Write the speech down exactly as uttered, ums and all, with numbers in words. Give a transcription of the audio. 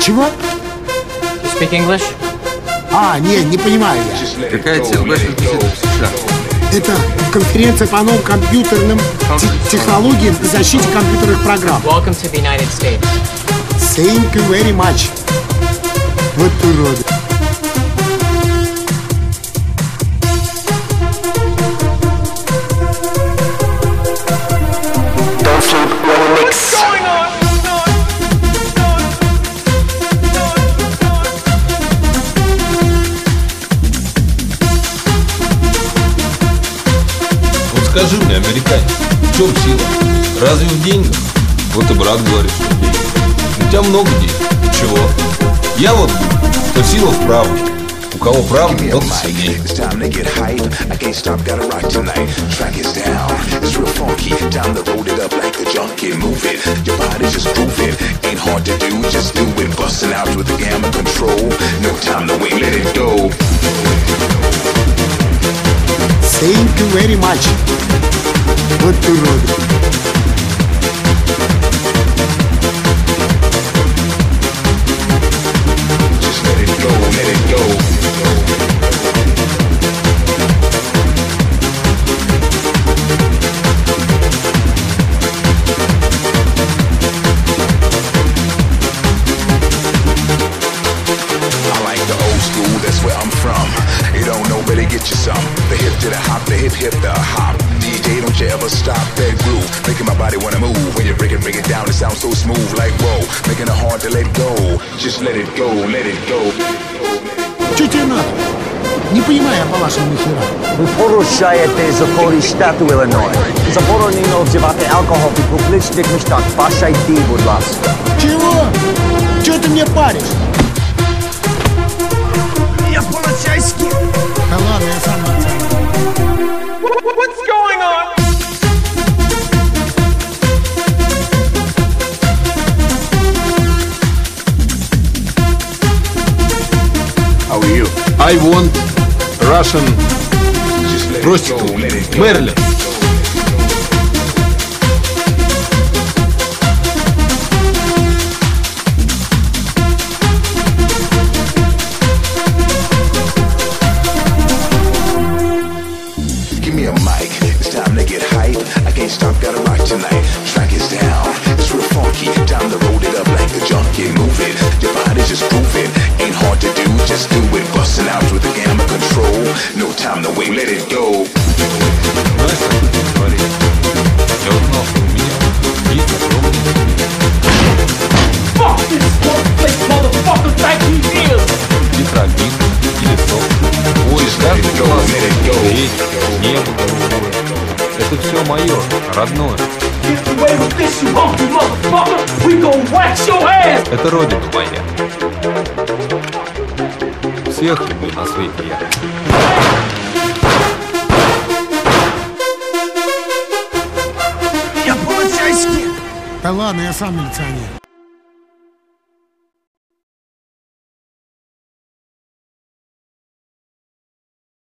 Чего? You speak English? А, не, не понимаю я. Какая цель ваших визитов в США? Это конференция по новым компьютерным те- технологиям и защите компьютерных программ. Welcome to the United States. Thank you very much. Вот уроды. Скажи мне, американец, в чем сила? Разве в деньгах? Вот и брат говорит, что в деньгах. У тебя много денег. Чего? Я вот думаю, что сила в правде. У кого правда, тот сильнее. Thank you very much. Вот уроды. Just let it go, let it go. I like the old school, that's where I'm from. You don't know, better get you some. The hip to the hop, the hip hip the hop. D J, don't you ever stop that groove. Making my body wanna move. When you break it, break it down, it sounds so smooth like whoa. Making it hard to let go. Just let it go, let it go. Что тебе надо? Не понимаю я по-вашему нихера. Ви порушаєте закони штату Іллінойс. Заборонено вживати алкоголь в публічних містах. Пошайте, будь ласка. Чего? Чего ты мне паришь? Я полицейский. Да ладно, я сам оценю. What's going on? How are you? I want Russian Just let it go, prostitute. let it go. Мерлин. Give me a mic, it's time to get hype. I can't stop, gotta rock tonight. Track is down, it's real funky. Time to roll it up like a junkie. Move it, your body's just grooving. Ain't hard to do, just do it. Busting out with the gamma control. No time to wait, let it go. Знаешь, как это говорит? Я узнал, что у меня есть огромный Fuck this workplace, motherfucker, thank you, years. гидробин или сок. Ой, каждый глаз, ветер, небо голубое. Это все мое, родное. Get away with this, you hunky motherfucker. We gon' wax your ass. Это родина моя. Всех люблю на свете я. Я полицейский. Да ладно, я сам милиционер.